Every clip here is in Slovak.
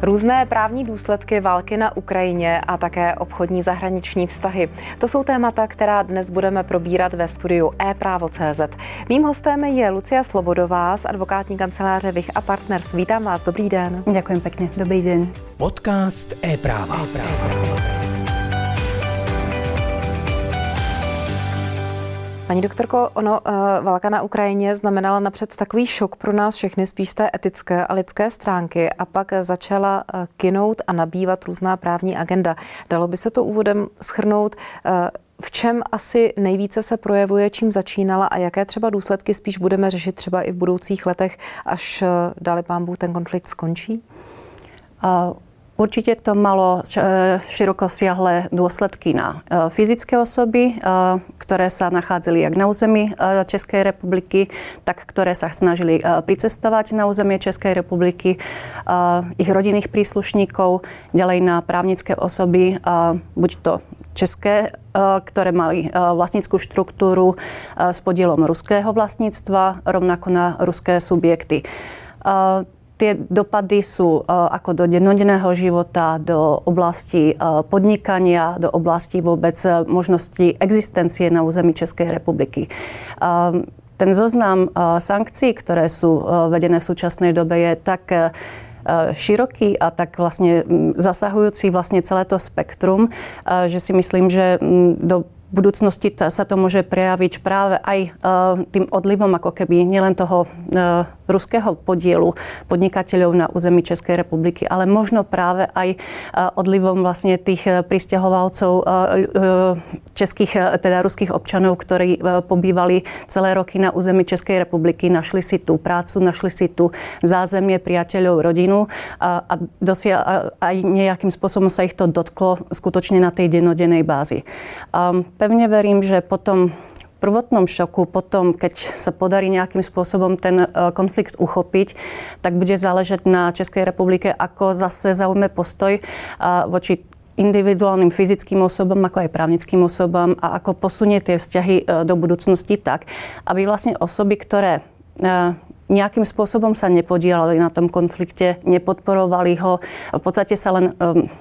Různé právní důsledky války na Ukrajině a také obchodní zahraniční vztahy. To jsou témata, která dnes budeme probírat ve studiu ePrávo.cz. Mým hostem je Lucia Slobodová z advokátní kanceláře Vich a Partners. Vítám vás, dobrý den. Ďakujem pekne, dobrý deň. Podcast ePráva. Paní doktorko, válka na Ukrajině znamenala napřed takový šok pro nás všechny, spíš z té etické a lidské stránky, a pak začala kynout a nabývat různá právní agenda. Dalo by se to úvodem shrnout, v čem asi nejvíce se projevuje, čím začínala a jaké třeba důsledky spíš budeme řešit třeba i v budoucích letech, až dali pán Bůh ten konflikt skončí? Určite to malo širokosiahle dôsledky na fyzické osoby, ktoré sa nachádzali jak na území Českej republiky, tak ktoré sa snažili pricestovať na územie Českej republiky, ich rodinných príslušníkov, ďalej na právnické osoby, buď to české, ktoré mali vlastnícku štruktúru s podielom ruského vlastníctva, rovnako na ruské subjekty. Tie dopady sú ako do dennodenného života, do oblasti podnikania, do oblasti vôbec možnosti existencie na území Českej republiky. Ten zoznam sankcií, ktoré sú vedené v súčasnej dobe, je tak široký a tak vlastne zasahujúci vlastne celé to spektrum, že si myslím, že do budúcnosti sa to môže prejaviť práve aj tým odlivom ako keby nielen toho ruského podielu podnikateľov na území Českej republiky, ale možno práve aj odlivom vlastne tých prisťahovalcov českých, teda ruských občanov, ktorí pobývali celé roky na území Českej republiky, našli si tú prácu, našli si tu zázemie, priateľov, rodinu a aj nejakým spôsobom sa ich to dotklo skutočne na tej dennodennej bázi. Pevne verím, že po tom prvotnom šoku, potom, keď sa podarí nejakým spôsobom ten konflikt uchopiť, tak bude záležať na Českej republike, ako zase zaujme postoj voči individuálnym fyzickým osobám, ako aj právnickým osobám a ako posunie tie vzťahy do budúcnosti tak, aby vlastne osoby, ktoré nejakým spôsobom sa nepodielali na tom konflikte, nepodporovali ho, v podstate sa len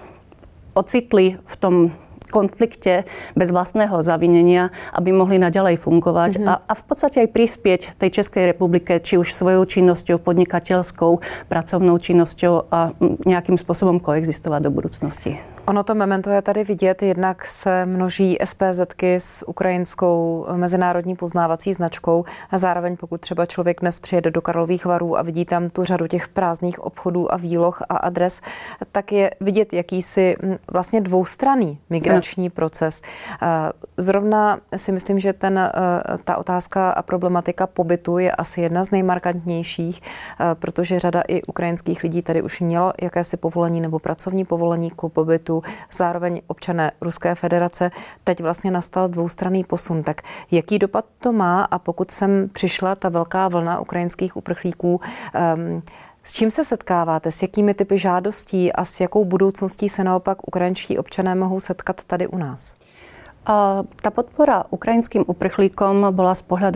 ocitli v tom konflikte bez vlastného zavinenia, aby mohli naďalej fungovať a v podstate aj prispieť tej Českej republike, či už svojou činnosťou, podnikateľskou, pracovnou činnosťou a nejakým spôsobom koexistovať do budúcnosti. Ono to memento je tady vidět, jednak se množí SPZ-ky s ukrajinskou mezinárodní poznávací značkou a zároveň pokud třeba člověk dnes přijede do Karlových Varů a vidí tam tu řadu těch prázdných obchodů a výloh a adres, tak je vidět jakýsi vlastně dvoustranný migrační proces. Zrovna si myslím, že ta otázka a problematika pobytu je asi jedna z nejmarkantnějších, protože řada i ukrajinských lidí tady už mělo jakési povolení nebo pracovní povolení k pobytu, zároveň občané Ruské federace. Teď vlastně nastal dvoustranný posun. Tak jaký dopad to má? A pokud sem přišla ta velká vlna ukrajinských uprchlíků, s čím se setkáváte? S jakými typy žádostí a s jakou budoucností se naopak ukrajinští občané mohou setkat tady u nás? Tá podpora ukrajinským uprchlíkom bola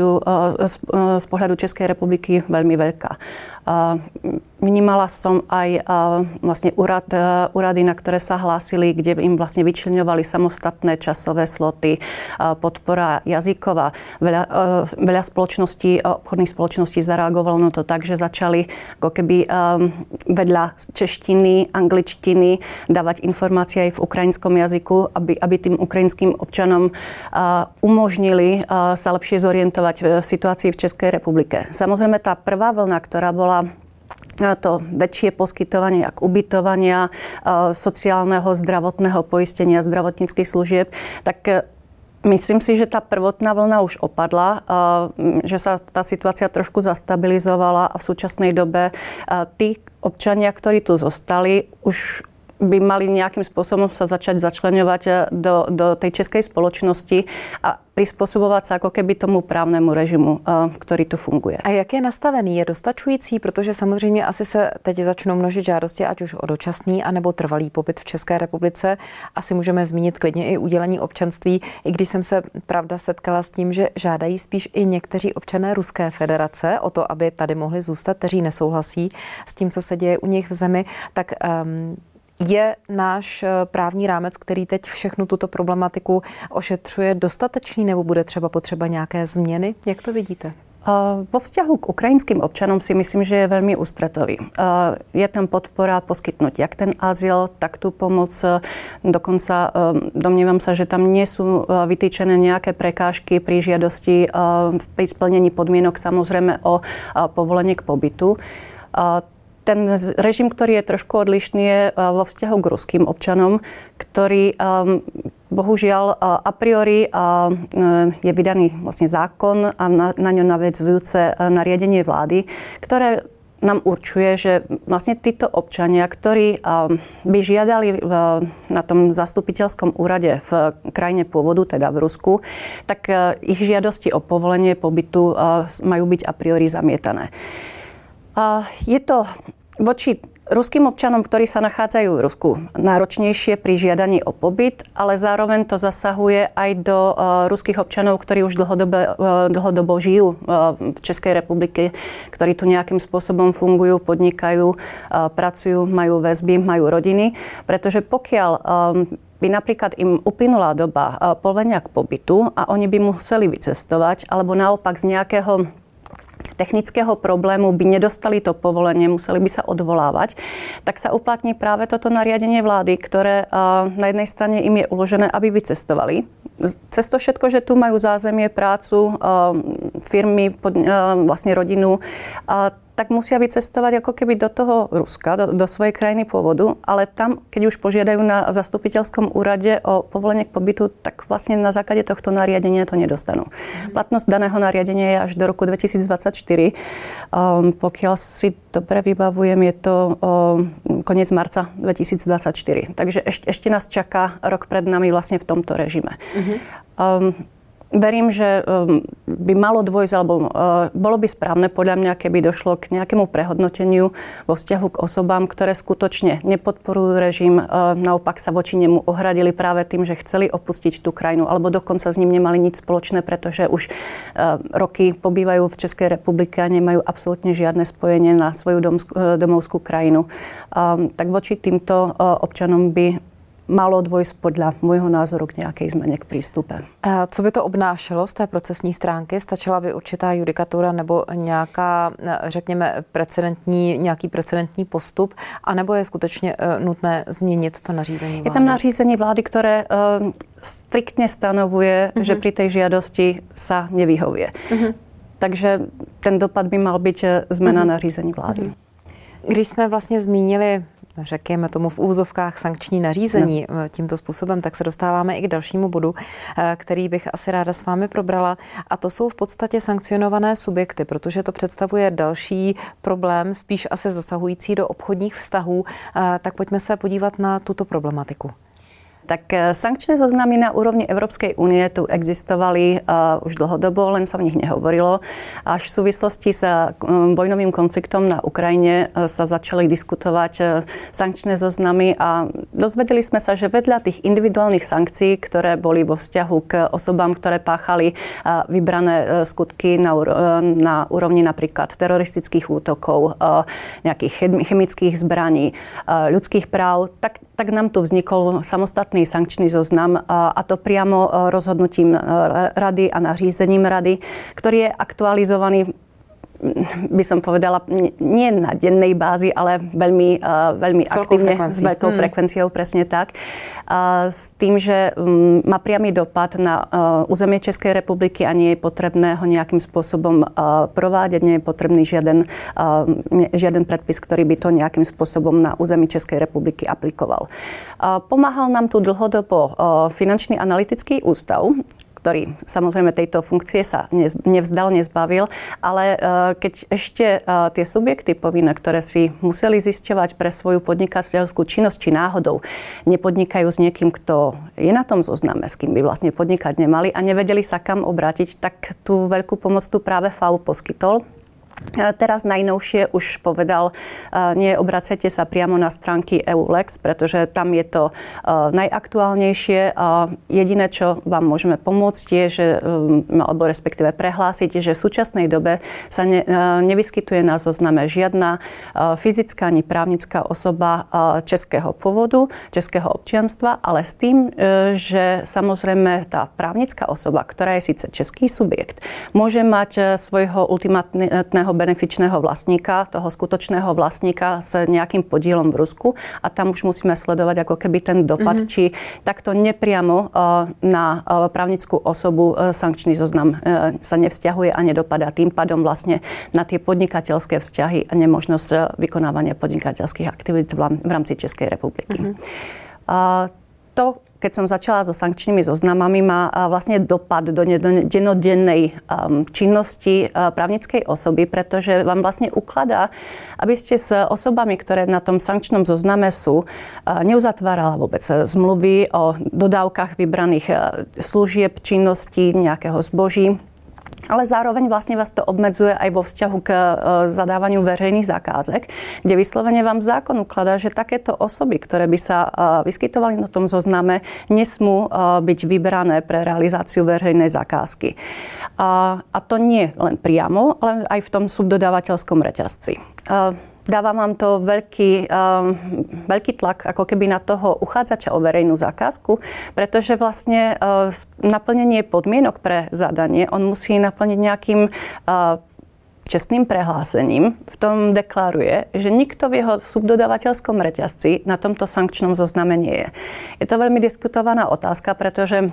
z pohľadu Českej republiky veľmi veľká. Vnímala som aj vlastne úrady, na ktoré sa hlásili, kde im vlastne vyčleňovali samostatné časové sloty, podpora jazyková. Veľa spoločností, obchodných spoločností zareagovalo na to tak, že začali ako keby vedľa češtiny, angličtiny dávať informácie aj v ukrajinskom jazyku, aby tým ukrajinským občanom umožnili sa lepšie zorientovať v situácii v Českej republike. Samozrejme, tá prvá vlna, ktorá bola to väčšie poskytovanie jak ubytovania, sociálneho, zdravotného poistenia, zdravotníckych služieb, tak myslím si, že tá prvotná vlna už opadla, že sa tá situácia trošku zastabilizovala a v súčasnej dobe tí občania, ktorí tu zostali, už by mali nejakým spôsobom sa začať začleňovať do tej českej spoločnosti a prispôsobovať sa ako keby tomu právnemu režimu, ktorý tu funguje. A jak je nastavený? Je dostačující? Protože samozřejmě asi se teď začnou množit žádosti, ať už o dočasný, anebo trvalý pobyt v České republice. Asi můžeme zmínit klidně i udělení občanství, i když jsem se, pravda, setkala s tím, že žádají spíš i někteří občané Ruské federace o to, aby tady mohli zůstat, kteří nesouhlasí s tím, co se děje u nich v zemi, tak je náš právní rámec, který teď všechnu tuto problematiku ošetřuje, dostatečný, nebo bude třeba potřeba nějaké změny? Jak to vidíte? Vo vzťahu k ukrajinským občanom si myslím, že je veľmi ústretový. Je tam podpora poskytnúť jak ten azyl, tak tú pomoc. Dokonca domnievam sa, že tam nie sú vytýčené nejaké prekážky pri žiadosti, pri splnení podmienok, samozrejme o povolenie k pobytu. Ten režim, ktorý je trošku odlišný, je vo vzťahu k ruským občanom, ktorý bohužiaľ a priori je vydaný vlastne zákon a na ňo naväzujúce nariadenie vlády, ktoré nám určuje, že vlastne títo občania, ktorí by žiadali na tom zastupiteľskom úrade v krajine pôvodu, teda v Rusku, tak ich žiadosti o povolenie pobytu majú byť a priori zamietané. Je to voči ruským občanom, ktorí sa nachádzajú v Rusku, náročnejšie pri žiadaní o pobyt, ale zároveň to zasahuje aj do ruských občanov, ktorí už dlhodobo žijú v Českej republike, ktorí tu nejakým spôsobom fungujú, podnikajú, pracujú, majú väzby, majú rodiny. Pretože pokiaľ by napríklad im uplynula doba povolenia k pobytu a oni by museli vycestovať, alebo naopak z nejakého technického problému by nedostali to povolenie, museli by sa odvolávať, tak sa uplatní práve toto nariadenie vlády, ktoré na jednej strane im je uložené, aby vycestovali. Cez to všetko, že tu majú zázemie, prácu, firmy, vlastne rodinu, tak musia vycestovať ako keby do toho Ruska, do svojej krajiny pôvodu, ale tam, keď už požiadajú na zastupiteľskom úrade o povolenie k pobytu, tak vlastne na základe tohto nariadenia to nedostanú. Platnosť daného nariadenia je až do roku 2024. Pokiaľ si dobre vybavujem, je to koniec marca 2024. Takže ešte nás čaká rok pred nami vlastne v tomto režime. Verím, že by malo dôjsť, alebo bolo by správne podľa mňa, keby došlo k nejakému prehodnoteniu vo vzťahu k osobám, ktoré skutočne nepodporujú režim, naopak sa voči nemu ohradili práve tým, že chceli opustiť tú krajinu, alebo dokonca s ním nemali nič spoločné, pretože už roky pobývajú v Českej republike a nemajú absolútne žiadne spojenie na svoju domovskú krajinu. Tak voči týmto občanom by malo dôjsť podľa môjho názoru k nejakej zmene k prístupe. Co by to obnášelo z té procesní stránky? Stačila by určitá judikatura nebo nějaká, řekněme, nějaký precedentní postup, anebo je skutečně nutné změnit to nařízení vlády? Je tam nařízení vlády, ktoré striktne stanovuje, že pri tej žiadosti sa nevyhovuje. Takže ten dopad by mal byť zmena nařízení vlády. Když jsme vlastně zmínili, řekněme tomu v úvozovkách, sankční nařízení tímto způsobem, tak se dostáváme i k dalšímu bodu, který bych asi ráda s vámi probrala. A to jsou v podstatě sankcionované subjekty, protože to představuje další problém, spíš asi zasahující do obchodních vztahů. Tak pojďme se podívat na tuto problematiku. Tak sankčné zoznamy na úrovni Európskej únie tu existovali už dlhodobo, len sa o nich nehovorilo. Až v súvislosti s vojnovým konfliktom na Ukrajine sa začali diskutovať sankčné zoznamy a dozvedeli sme sa, že vedľa tých individuálnych sankcií, ktoré boli vo vzťahu k osobám, ktoré páchali vybrané skutky na úrovni napríklad teroristických útokov, nejakých chemických zbraní, ľudských práv, tak nám tu vznikol samostatný sankčný zoznam a to priamo rozhodnutím rady a nařízením rady, ktorý je aktualizovaný, by som povedala, nie na dennej bázi, ale veľmi aktívne, s veľkou frekvenciou, presne tak. S tým, že má priamy dopad na územie Českej republiky a nie je potrebné ho nejakým spôsobom provádět, nie je potrebný žiaden predpis, ktorý by to nejakým spôsobom na území Českej republiky aplikoval. Pomáhal nám tu dlhodobo Finančný analytický ústav, ktorý samozrejme tejto funkcie sa nevzdal, nezbavil, ale keď ešte tie subjekty povinné, ktoré si museli zisťovať pre svoju podnikateľskú činnosť, či náhodou nepodnikajú s niekým, kto je na tom zozname, s kým by vlastne podnikať nemali a nevedeli sa kam obrátiť, tak tú veľkú pomoc tu práve FAÚ poskytol. Teraz najnovšie už povedal, nie obracajte sa priamo na stránky EULEX, pretože tam je to najaktuálnejšie. Jediné, čo vám môžeme pomôcť, je, že, alebo respektíve prehlásiť, že v súčasnej dobe sa nevyskytuje na zozname žiadna fyzická ani právnická osoba českého pôvodu, českého občianstva, ale s tým, že samozrejme tá právnická osoba, ktorá je síce český subjekt, môže mať svojho ultimátneho benefičného vlastníka, toho skutočného vlastníka s nejakým podielom v Rusku a tam už musíme sledovať ako keby ten dopad, či takto nepriamo na právnickú osobu sankčný zoznam sa nevzťahuje a nedopadá tým pádom vlastne na tie podnikateľské vzťahy a nemožnosť vykonávania podnikateľských aktivít v rámci Českej republiky. To, keď som začala so sankčnými zoznamami, má vlastne dopad do dennodennej činnosti právnickej osoby, pretože vám vlastne ukladá, aby ste s osobami, ktoré na tom sankčnom zozname sú, neuzatvárala vôbec zmluvy o dodávkach vybraných služieb, činností, nejakého zboží. Ale zároveň vlastne vás to obmedzuje aj vo vzťahu k zadávaniu verejných zakázek, kde vyslovene vám zákon ukladá, že takéto osoby, ktoré by sa vyskytovali na tom zozname, nesmú byť vyberané pre realizáciu verejnej zakázky. A to nie len priamo, ale aj v tom subdodávateľskom reťazci. Dáva vám to veľký tlak ako keby na toho uchádzača o verejnú zakázku, pretože vlastne naplnenie podmienok pre zadanie on musí naplniť nejakým čestným prehlásením. V tom deklaruje, že nikto v jeho subdodávateľskom reťazci na tomto sankčnom zozname nie je. Je to veľmi diskutovaná otázka, pretože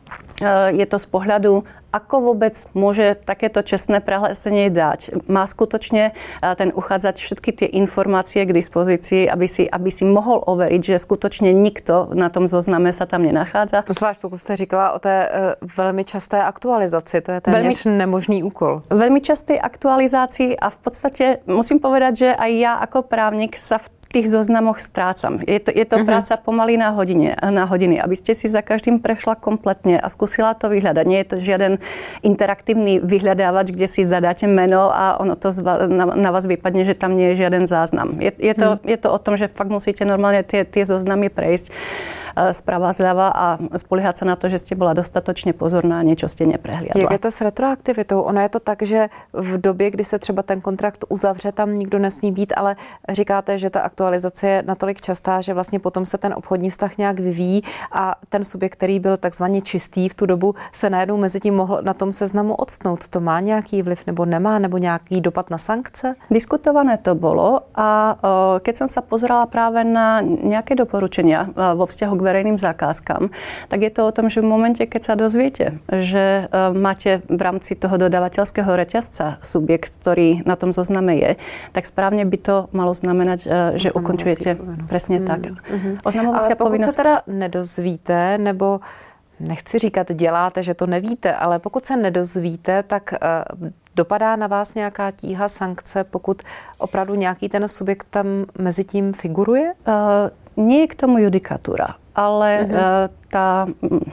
je to z pohľadu, ako vôbec môže takéto čestné prehlásenie dať. Má skutočne ten uchádzač všetky tie informácie k dispozícii, aby si mohol overiť, že skutočne nikto na tom zozname sa tam nenachádza. Zvlášť pokud jste říkala o té velmi časté aktualizaci, to je téměř nemožný úkol. Veľmi časté aktualizácii a v podstate musím povedať, že aj ja ako právnik sa v tých zoznamoch strácam. Je to práca pomaly na hodiny, aby ste si za každým prešla kompletne a skúsila to vyhľadať. Nie je to žiaden interaktívny vyhľadávač, kde si zadáte meno a ono to na vás vypadne, že tam nie je žiaden záznam. Je to o tom, že fakt musíte normálne tie zoznamy prejsť sprava zľava a spoliehať sa na to, že ste bola dostatočne pozorná a niečo ste neprehliadla. Jak je to s retroaktivitou? Ono je to tak, že v době, kdy se třeba ten kontrakt uzavře, tam nikdo nesmí být, ale říkáte, že ta aktualizace je natolik častá, že vlastně potom se ten obchodní vztah nějak vyvíjí a ten subjekt, který byl takzvaně čistý v tu dobu, se najednou mezi tím mohl na tom seznamu odstnout. To má nějaký vliv nebo nemá, nebo nějaký dopad na sankce? Diskutované to bolo a keď som sa pozerala práve na nejaké doporučenia vo vzťahu k verejným zákazkám, tak je to o tom, že v momente, keď sa dozviete, že máte v rámci toho dodávateľského reťazca subjekt, ktorý na tom zozname je, tak správne by to malo znamenať, že ukončujete presne tak. Ale pokud se teda nedozvíte, nebo nechci říkat děláte, že to nevíte, ale pokud se nedozvíte, tak dopadá na vás nějaká tíha sankce, pokud opravdu nějaký ten subjekt tam mezi tím figuruje? Nie je k tomu judikatúra, ale tá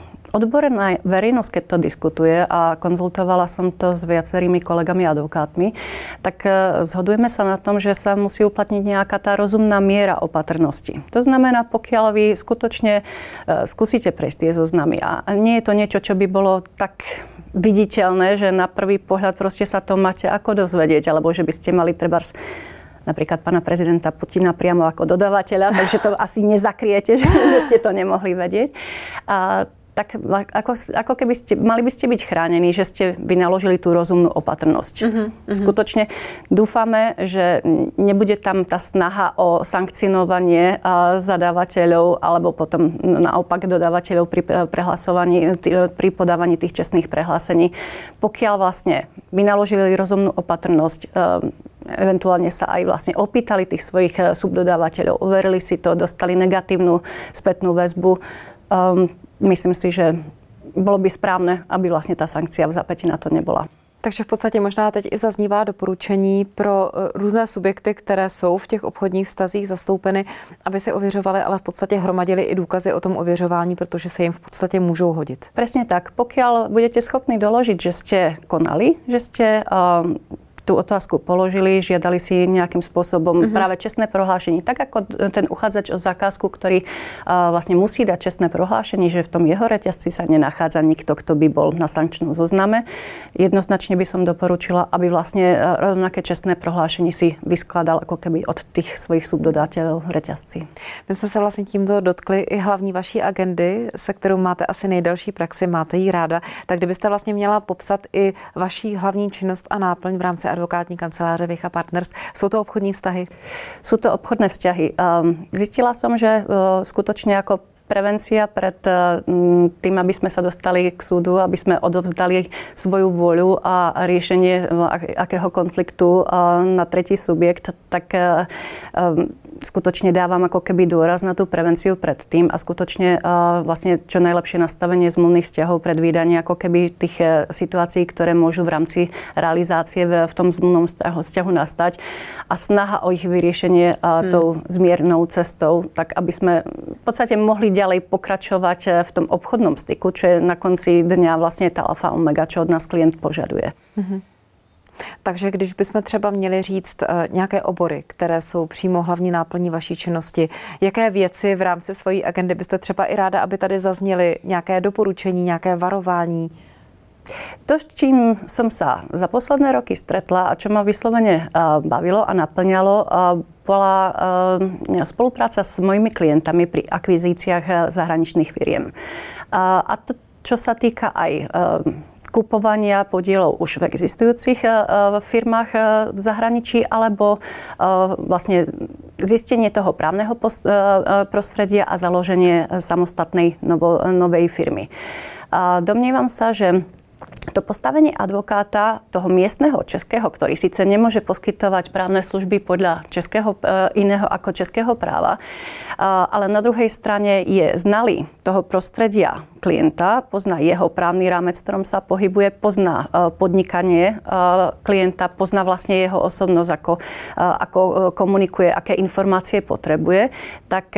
odborná verejnosť, keď to diskutuje a konzultovala som to s viacerými kolegami advokátmi, tak zhodujeme sa na tom, že sa musí uplatniť nejaká tá rozumná miera opatrnosti. To znamená, pokiaľ vy skutočne skúsite prejsť tie zoznamy a nie je to niečo, čo by bolo tak viditeľné, že na prvý pohľad proste sa to máte ako dozvedieť, alebo že by ste mali trebárs napríklad pána prezidenta Putina priamo ako dodávateľa, takže to asi nezakriete, že ste to nemohli vedieť. Tak ako keby mali by ste byť chránení, že ste vynaložili tú rozumnú opatrnosť. Skutočne dúfame, že nebude tam tá snaha o sankcionovanie zadávateľov alebo potom naopak dodávateľov pri podávaní tých čestných prehlásení. Pokiaľ vlastne vynaložili rozumnú opatrnosť, eventuálne sa aj vlastne opýtali tých svojich subdodávateľov, overili si to, dostali negatívnu spätnú väzbu. Myslím si, že bolo by správne, aby vlastne tá sankcia v zápäti na to nebola. Takže v podstatě možná teď i zaznívá doporučení pro různé subjekty, které jsou v těch obchodních vztazích zastoupeny, aby si ověřovali, ale v podstatě hromadili i důkazy o tom ověřování, protože se jim v podstatě můžou hodit. Presne tak. Pokiaľ budete schopní doložiť, že ste konali, že ste tú otázku položili, žiadali si nejakým spôsobom práve čestné prohlášenie. Tak ako ten uchádzač o zákazku, ktorý vlastne musí dať čestné prohlášenie, že v tom jeho reťazci sa nenachádza nikto, kto by bol na sankčnom zozname. Jednoznačne by som doporučila, aby vlastne rovnaké čestné prohlášenie si vyskladal ako keby od tých svojich subdodateľov reťazci. My jsme se vlastně tímto dotkli i hlavní vaší agendy, se kterou máte asi nejdelší praxi, máte ji ráda. Tak kdybyste vlastně měla popsat i vaší hlavní činnost a náplň v rámci advokátní kanceláře Vich & Partners. Jsou to obchodní vztahy? Sú to obchodné vzťahy. Zistila som, že skutočne ako prevencia pred tým, aby sme sa dostali k súdu, aby sme odovzdali svoju voľu a riešenie akého konfliktu na tretí subjekt, tak skutočne dávam ako keby dôraz na tú prevenciu pred tým a skutočne vlastne čo najlepšie nastavenie zmluvných vzťahov, predvídanie ako keby tých situácií, ktoré môžu v rámci realizácie v tom zmluvnom vzťahu nastať a snaha o ich vyriešenie tou zmiernou cestou, tak aby sme v podstate mohli ďalej pokračovať v tom obchodnom styku, čo je na konci dňa vlastne tá alfa omega, čo od nás klient požaduje. Takže když bychom třeba měli říct nějaké obory, které jsou přímo hlavní náplní vaší činnosti, jaké věci v rámci svojí agendy byste třeba i ráda, aby tady zazněly nějaké doporučení, nějaké varování? To, s čím som sa za posledné roky stretla a čo ma vyslovene bavilo a naplňalo, bola spolupráca s mojimi klientami pri akvizíciách zahraničných firiem. A to, čo sa týka aj kupovania podielov už v existujúcich firmách v zahraničí alebo vlastne zistenie toho právneho prostredia a založenie samostatnej novej firmy. Domnievam sa, že to postavenie advokáta, toho miestneho českého, ktorý síce nemôže poskytovať právne služby podľa iného ako českého práva, ale na druhej strane je znalý toho prostredia klienta, pozná jeho právny rámec, v ktorom sa pohybuje, pozná podnikanie klienta, pozná vlastne jeho osobnosť, ako komunikuje, aké informácie potrebuje, tak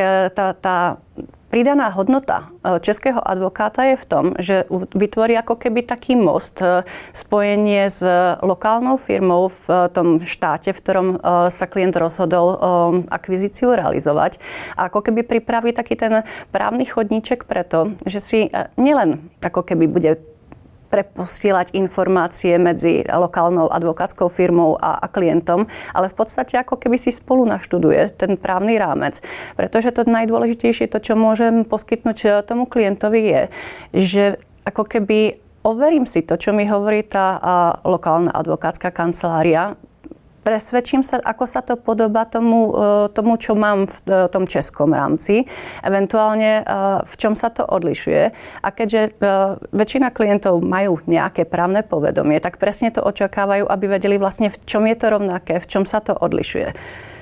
tá pridaná hodnota českého advokáta je v tom, že vytvorí ako keby taký most, spojenie s lokálnou firmou v tom štáte, v ktorom sa klient rozhodol akvizíciu realizovať. A ako keby pripraví taký ten právny chodníček preto, že si nielen ako keby bude preposielať informácie medzi lokálnou advokátskou firmou a klientom, ale v podstate ako keby si spolu naštuduje ten právny rámec. Pretože to najdôležitejšie, to, čo môžem poskytnúť tomu klientovi je, že ako keby overím si to, čo mi hovorí tá lokálna advokátska kancelária, presvedčím sa, ako sa to podobá tomu, čo mám v tom českom rámci, eventuálne v čom sa to odlišuje. A keďže väčšina klientov majú nejaké právne povedomie, tak presne to očakávajú, aby vedeli vlastne, v čom je to rovnaké, v čom sa to odlišuje.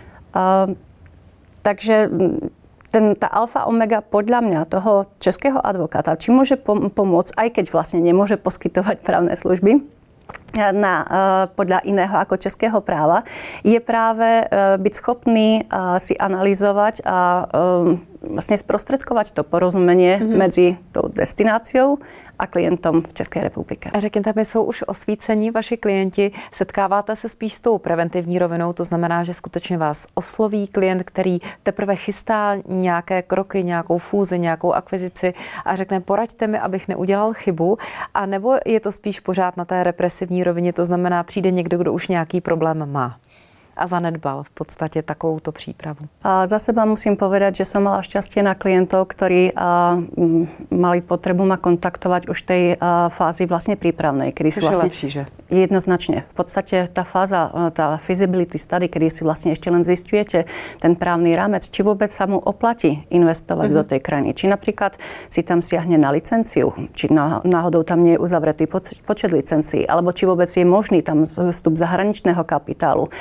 Takže tá alfa omega podľa mňa toho českého advokáta, či môže pomôcť, aj keď vlastne nemôže poskytovať právne služby, podľa iného ako českého práva, je práve byť schopný si analyzovať a vlastne sprostredkovať to porozumenie medzi tou destináciou a klientom v České republice. A řekněte mi, jsou už osvícení vaši klienti? Setkáváte se spíš s tou preventivní rovinou, to znamená, že skutečně vás osloví klient, který teprve chystá nějaké kroky, nějakou fúzi, nějakou akvizici a řekne, poraďte mi, abych neudělal chybu, a nebo je to spíš pořád na té represivní rovině, to znamená, přijde někdo, kdo už nějaký problém má a zanedbal v podstate takouto prípravu? Za seba musím povedať, že som mala šťastie na klientov, ktorí mali potrebu ma kontaktovať už v tej fázi vlastne prípravnej. Kedy si vlastne, lepší, že? Jednoznačne. V podstate tá fáza, tá feasibility study, kedy si vlastne ešte len zistujete ten právny rámec, či vôbec sa mu oplatí investovať do tej krajiny. Či napríklad si tam siahne na licenciu, či náhodou tam nie je uzavretý počet licencií, alebo či vôbec je možný tam vstup zahraničného kapitálu.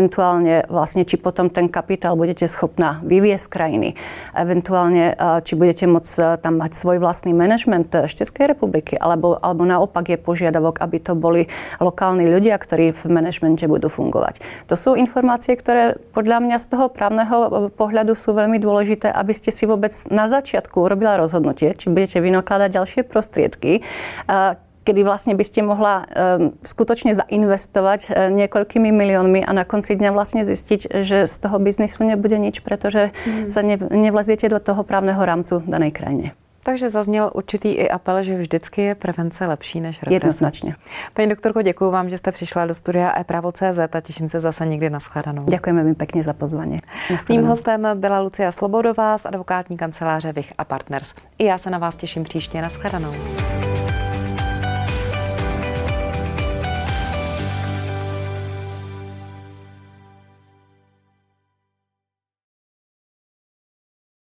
eventuálne vlastne, či potom ten kapitál budete schopná vyviesť z krajiny, eventuálne, či budete môcť tam mať svoj vlastný manažment z Českej republiky, alebo naopak je požiadavok, aby to boli lokálni ľudia, ktorí v manažmente budú fungovať. To sú informácie, ktoré podľa mňa z toho právneho pohľadu sú veľmi dôležité, aby ste si vôbec na začiatku urobila rozhodnutie, či budete vynakladať ďalšie prostriedky, kedy vlastne by ste mohla skutočne zainvestovať niekoľkými miliónmi a na konci dňa vlastne zistiť, že z toho biznisu nebude nič, pretože sa nevleziete do toho právneho rámcu danej krajine. Takže zazněl určitý i apel, že vždycky je prevence lepší než represe. Jednoznačně. Paní doktorko, děkuji vám, že jste přišla do studia ePravo.cz a těším se zase někdy na shledanou. Děkujeme mi pěkně za pozvání. Mým hostem byla Lucia Slobodová z advokátní kanceláře Vich a Partners. I já se na vás těším příště. Na shledanou.